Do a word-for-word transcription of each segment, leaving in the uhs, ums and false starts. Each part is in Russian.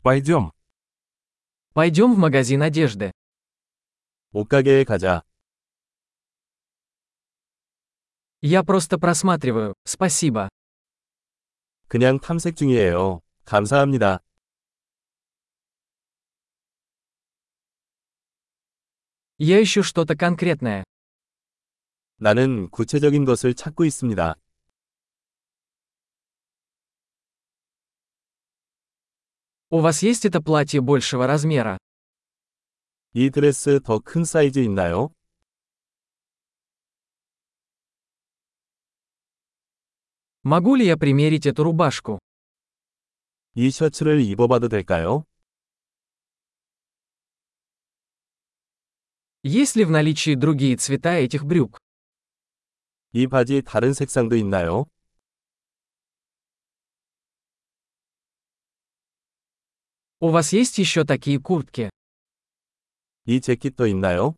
Пойдем. Пойдем в магазин одежды. 옷가게에 가자. Я просто просматриваю, спасибо. 그냥 탐색 중이에요. 감사합니다. Я ищу что-то конкретное. 나는 구체적인 것을 찾고 있습니다. У вас есть это платье большего размера? 이 드레스 더 큰 사이즈 있나요? Могу ли я примерить эту рубашку? 이 셔츠를 입어봐도 될까요? Есть ли в наличии другие цвета этих брюк? 이 바지 다른 색상도 있나요? У вас есть еще такие куртки? 이 재킷도 있나요?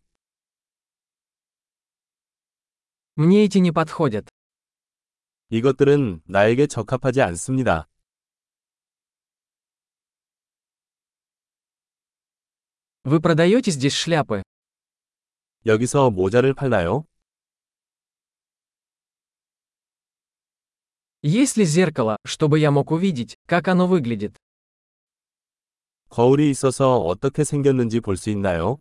Мне эти не подходят. 이것들은 나에게 적합하지 않습니다. Вы продаете здесь шляпы? 여기서 모자를 팔나요? Есть ли зеркало, чтобы я мог увидеть, как оно выглядит? 거울이 있어서 어떻게 생겼는지 볼 수 있나요?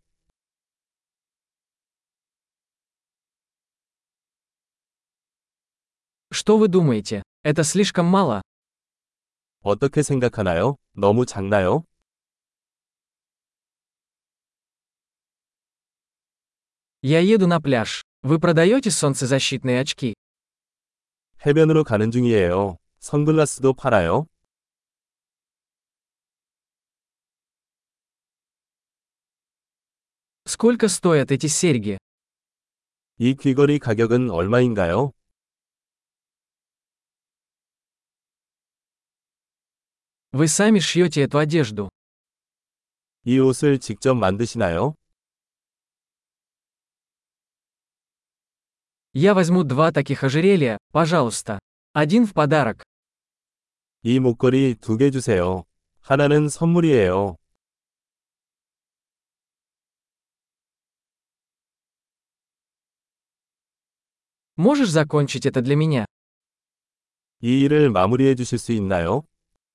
Что вы думаете? Это слишком мало? 어떻게 생각하나요? 너무 작나요? Я еду на пляж. Вы продаете солнцезащитные очки? 해변으로 가는 중이에요. 선글라스도 팔아요? Сколько стоят эти серьги? 이 귀걸이 가격은 얼마인가요? Вы сами шьете эту одежду. 이 옷을 직접 만드시나요? Я возьму два таких ожерелья, пожалуйста. Один в подарок. 이 목걸이 두 개 주세요. 하나는 선물이에요. Можешь закончить это для меня? 이 일을 마무리해 주실 수 있나요?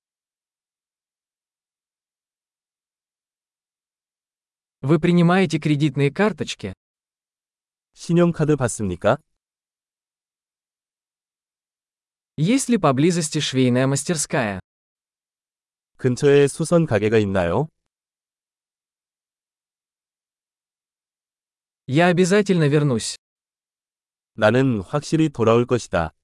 Вы принимаете кредитные карточки? 신용카드 받습니까? Есть ли поблизости швейная мастерская? 근처에 수선 가게가 있나요? Я обязательно вернусь. 나는 확실히 돌아올 것이다.